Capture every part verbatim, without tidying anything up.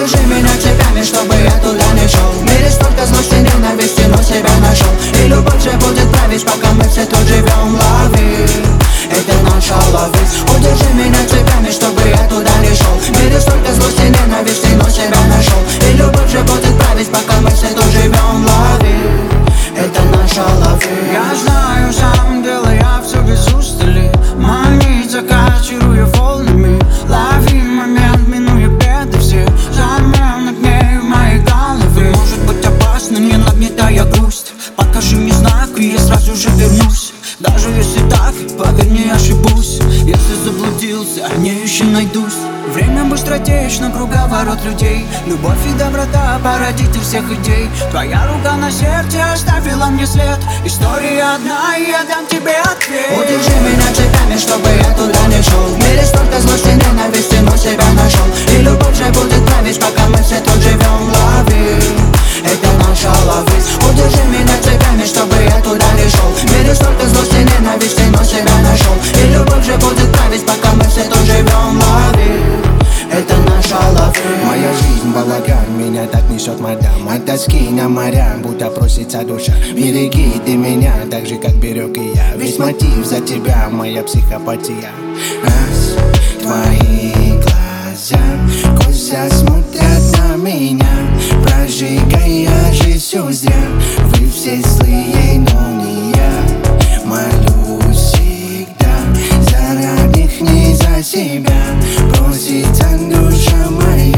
Удержи меня цепями, чтобы я туда не шел. В мире столько злости, ненависти, но себя нашел. И любовь же будет править, пока мы все тут живем. Лови, это наша лови. Удержи меня цепями, чтобы я туда не шел. В мире столько злости, ненависти, но себя нашел. И любовь же будет править, пока мы все тут живем. Лови, это наша лови. Я знаю, сам дело, я все без устали. Манит, закачиваю волнами. Лови момент, минуя беды все. Замер над нею моей головы. Может быть опасно, не нагнетая грусть. Покажи мне знак, и я сразу же вернусь. Даже если так, поверь, не ошибусь. Если заблудился, не еще найдусь. Время быстротечно, круговорот людей. Любовь и доброта, породитель всех идей. Твоя рука на сердце оставила мне след. История одна, и я дам тебе ответ. Удержи меня цепями, чтобы я туда не шел. В мире столько злости, ненависти, но себя нашел. И любовь же будет править, пока мы все тут живем. Лови, это наша лови. Удержи меня цепями, чтобы я туда не шел. В мире столько злости, ненависти, но себя нашел. И любовь же будет править, пока мы все тут живем. Лови, это наша лови. Моя жизнь балаган, меня так несет мадам. От тоски на моря, будто просится душа. Береги ты меня, так же как берег и я. Весь мотив за тебя, моя психопатия. Раз, твои глаза косо смотрят на меня, прожигая жизнь всю зря. Вы все злые, но не я. Молюсь всегда за родных, не за себя. Просится душа моя.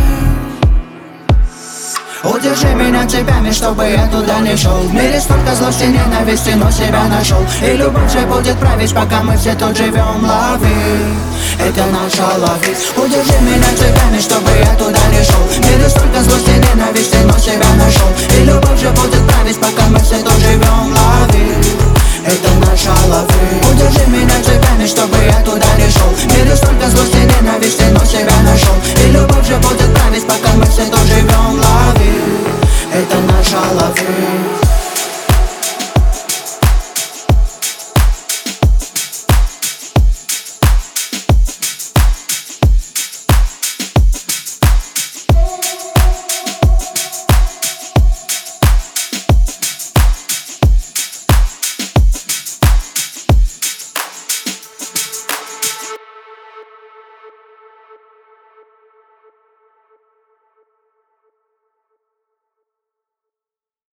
Удержи меня цепями, чтобы я туда не шел. В мире столько злости, ненависти, но себя нашел. И любовь же будет править, пока мы все тут живем. Лови, это наша лови. Удержи меня цепями, чтобы я туда не шел. В мире столько злости, ненависти, но себя нашел. И любовь же будет править, пока мы все тут живем. Лови, это наша лови. Удержи меня цепями, чтобы я туда не шел. В мире столько злости, ненависти, но себя нашел. И любовь же будет